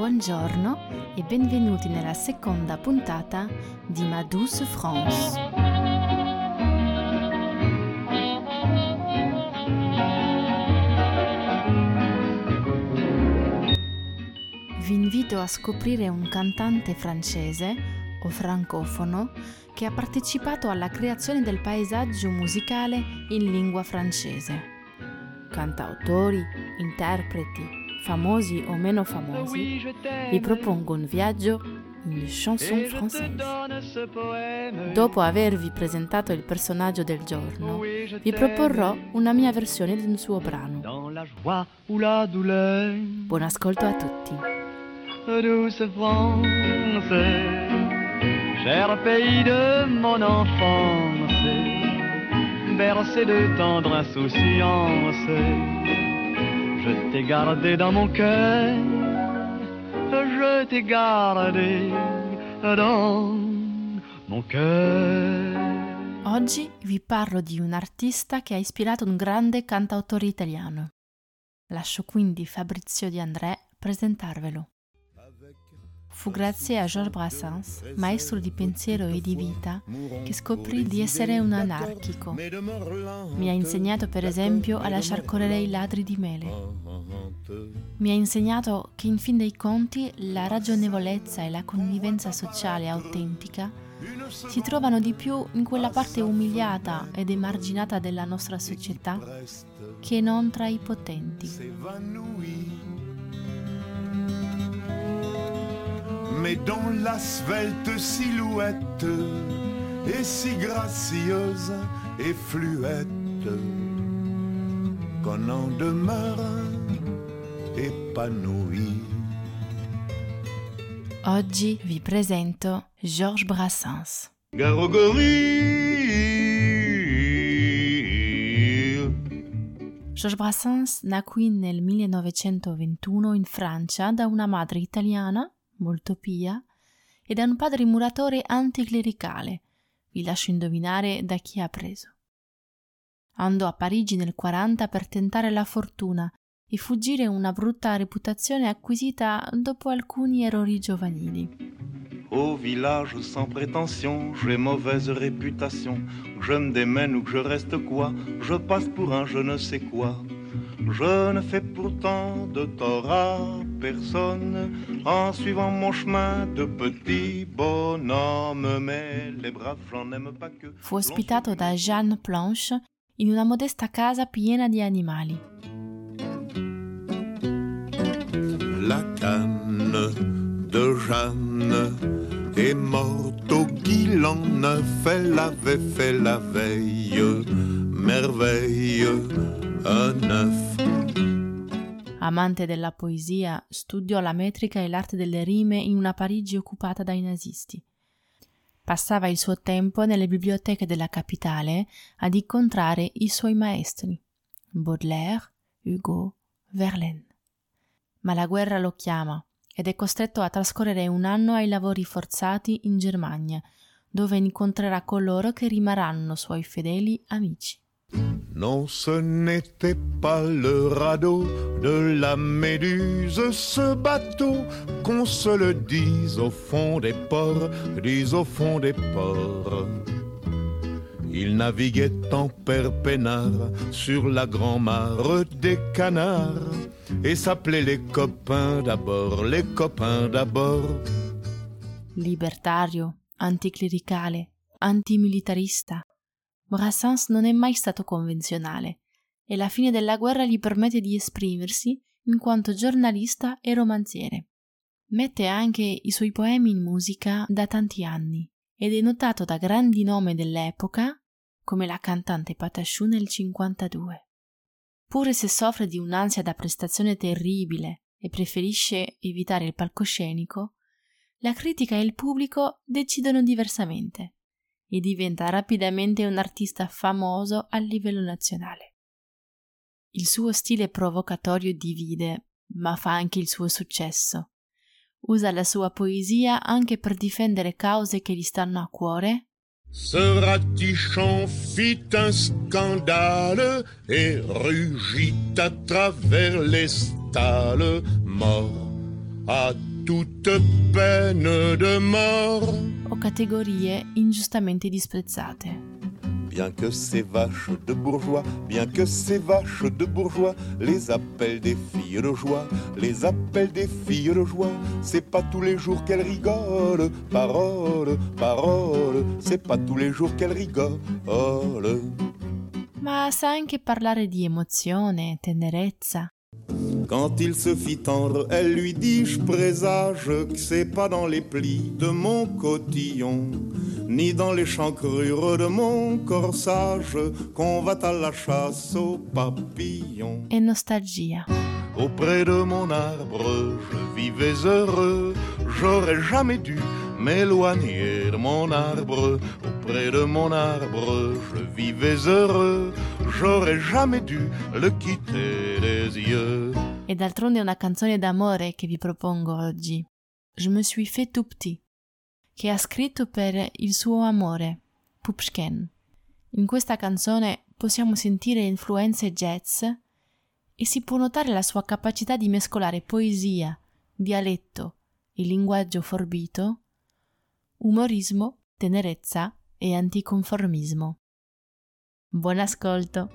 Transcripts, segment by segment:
Buongiorno e benvenuti nella seconda puntata di Ma Douce France. Vi invito a scoprire un cantante francese o francofono che ha partecipato alla creazione del paesaggio musicale in lingua francese. Cantautori, interpreti, famosi o meno famosi, vi propongo un viaggio in chanson française. Dopo avervi presentato il personaggio del giorno, vi proporrò una mia versione di un suo brano. Buon ascolto a tutti. Douce France, cher pays de mon enfance, bercé de tendre insouciance. Je t'ai gardé dans mon cœur, je t'ai gardé dans mon cœur. Oggi vi parlo di un artista che ha ispirato un grande cantautore italiano. Lascio quindi Fabrizio De André presentarvelo. Fu grazie a Georges Brassens, maestro di pensiero e di vita, che scoprì di essere un anarchico. Mi ha insegnato per esempio a lasciar correre i ladri di mele. Mi ha insegnato che in fin dei conti la ragionevolezza e la convivenza sociale autentica si trovano di più in quella parte umiliata ed emarginata della nostra società che non tra i potenti. Mais dont la svelte silhouette est si gracieuse et fluette qu'on en demeure épanoui. Oggi vi presento Georges Brassens. Georges Brassens nacque nel 1921 in Francia da una madre italiana molto pia, e da un padre muratore anticlericale. Vi lascio indovinare da chi ha preso. Andò a Parigi nel 40 per tentare la fortuna e fuggire una brutta reputazione acquisita dopo alcuni errori giovanili. Au village sans prétention, j'ai mauvaise réputation. Que je me démène ou que je reste quoi, je passe pour un je ne sais quoi. Je ne fais pourtant de tort à personne en suivant mon chemin de petit bonhomme, mais les braves j'en aime pas que. Fu ospitato da Jeanne Planche in una modesta casa piena di animali. La canne de Jeanne est morte au Guilan neuf, elle l'avait fait la veille, merveille, un neuf. Amante della poesia, studiò la metrica e l'arte delle rime in una Parigi occupata dai nazisti. Passava il suo tempo nelle biblioteche della capitale ad incontrare i suoi maestri, Baudelaire, Hugo, Verlaine. Ma la guerra lo chiama ed è costretto a trascorrere un anno ai lavori forzati in Germania, dove incontrerà coloro che rimarranno suoi fedeli amici. Non, ce n'était pas le radeau de la Méduse, ce bateau, qu'on se le dise au fond des ports, dise au fond des ports. Il naviguait en père peinard sur la grand-mare des canards et s'appelait les copains d'abord, les copains d'abord. Libertario, anticlericale, antimilitarista, Brassens non è mai stato convenzionale e la fine della guerra gli permette di esprimersi in quanto giornalista e romanziere. Mette anche i suoi poemi in musica da tanti anni ed è notato da grandi nomi dell'epoca come la cantante Patachou nel 52. Pure se soffre di un'ansia da prestazione terribile e preferisce evitare il palcoscenico, la critica e il pubblico decidono diversamente e diventa rapidamente un artista famoso a livello nazionale. Il suo stile provocatorio divide, ma fa anche il suo successo. Usa la sua poesia anche per difendere cause che gli stanno a cuore. Ce ratichon fit un scandale et rugit à travers les stalles, mort à toute peine de mort. O categorie ingiustamente disprezzate. Bien que ces vaches de bourgeois, bien que ces vaches de bourgeois, les appellent des filles de joie, les appellent des filles de joie. C'est pas tous les jours qu'elles rigolent, parole, parole, c'est pas tous les jours qu'elles rigolent. Ma sa anche parlare di emozione, tenerezza. Quand il se fit tendre, elle lui dit: je présage que c'est pas dans les plis de mon cotillon, ni dans les chancrures de mon corsage, qu'on va à la chasse aux papillons. E nostalgia. Auprès de mon arbre, je vivais heureux, j'aurais jamais dû m'éloigner de mon arbre. Auprès de mon arbre, je vivais heureux, j'aurais jamais dû le quitter des yeux. E d'altronde è una canzone d'amore che vi propongo oggi. Je me suis fait tout petit, che ha scritto per il suo amore, Pupshken. In questa canzone possiamo sentire influenze jazz e si può notare la sua capacità di mescolare poesia, dialetto e linguaggio forbito, umorismo, tenerezza e anticonformismo. Buon ascolto!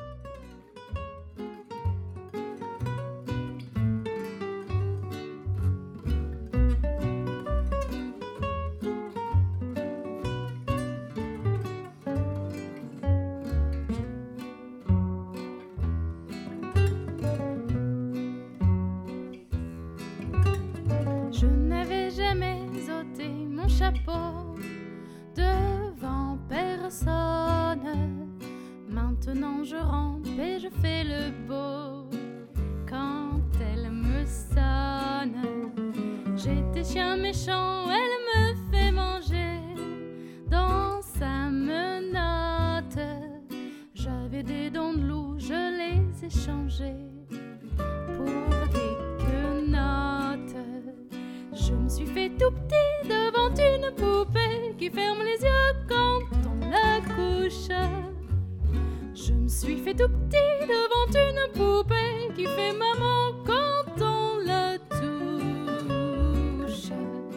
Je n'avais jamais ôté mon chapeau devant personne. Maintenant je rampe et je fais le beau quand elle me sonne. J'étais chien méchant, elle me fait manger dans sa menotte. J'avais des dents de loup, je les ai changées pour des quenottes. Je me suis fait tout petit devant une poupée qui ferme les yeux quand on la couche. Je me suis fait tout petit devant une poupée qui fait maman quand on la touche.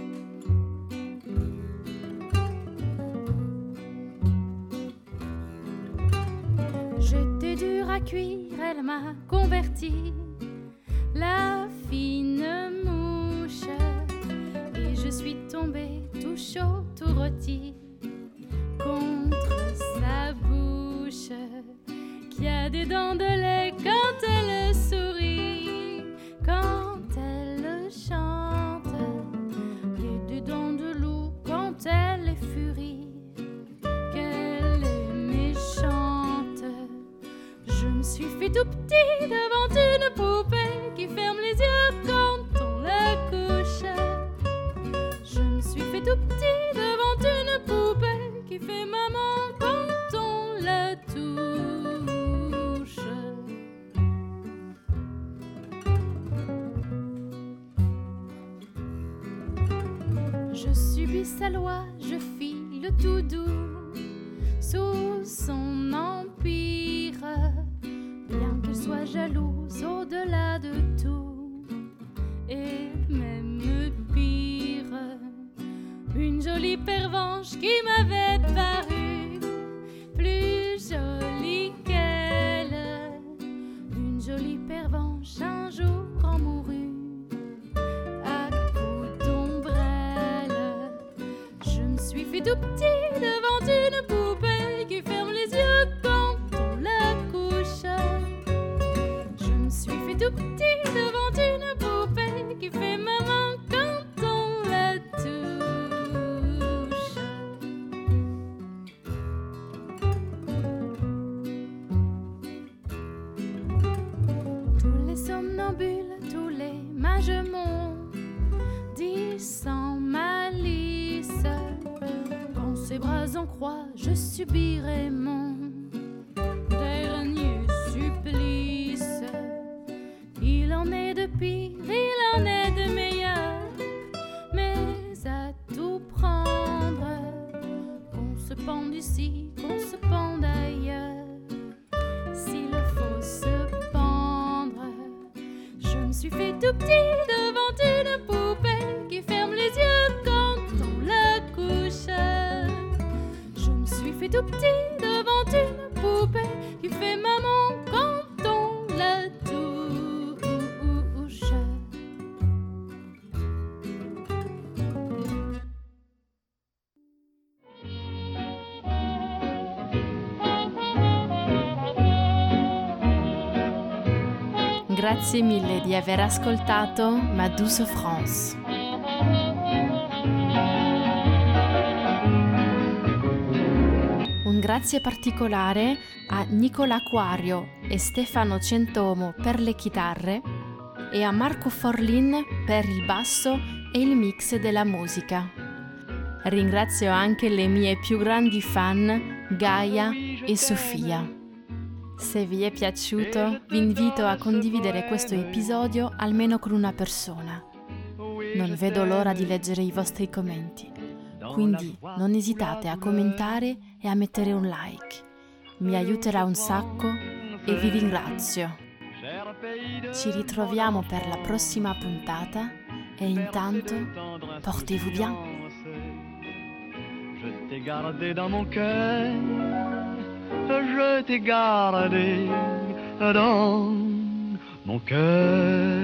J'étais dure à cuire, elle m'a converti, la fine mouche. Et je suis tombée tout chaud, tout rôti contre sa bouche, qui a des dents de lait quand elle sourit, quand elle chante, et des dents de loup quand elle est furie, qu'elle est méchante. Je me suis fait tout petit devant une poupée qui ferme les yeux quand on la couche. Je me suis fait tout petit devant une poupée qui fait maman quand on la touche. Je subis sa loi, je file tout doux sous son empire, bien qu'elle soit jalouse au-delà de tout, et même pire. Une jolie pervenche qui m'avait paru plus jolie qu'elle. Une jolie pervenche un jour en mourut à coups d'ombrelle. Je me suis fait tout petit devant une poupée qui ferme les yeux quand on la couche. Je me suis fait tout petit devant une poupée qui fait maman quand on la touche. Tous les somnambules, tous les mages m'ont dit sans malice, quand ses bras en croix, je subirai mon dernier supplice. Il en est de pire, il en est de meilleur, mais à tout prendre, qu'on se pende ici, qu'on se pende ailleurs. S'il faut se pendre, je me suis fait tout petit devant une poupée tout petit devant une poupée qui fait maman quand on la touche. Grazie mille di aver ascoltato Ma douce France. Un grazie particolare a Nicola Quario e Stefano Centomo per le chitarre e a Marco Forlin per il basso e il mix della musica. Ringrazio anche le mie più grandi fan, Gaia e Sofia. Se vi è piaciuto, vi invito a condividere questo episodio almeno con una persona. Non vedo l'ora di leggere i vostri commenti, quindi non esitate a commentare e a mettere un like. Mi aiuterà un sacco e vi ringrazio. Ci ritroviamo per la prossima puntata e intanto portez-vous bien. Je t'ai gardé dans mon cœur, je t'ai gardé dans mon cœur.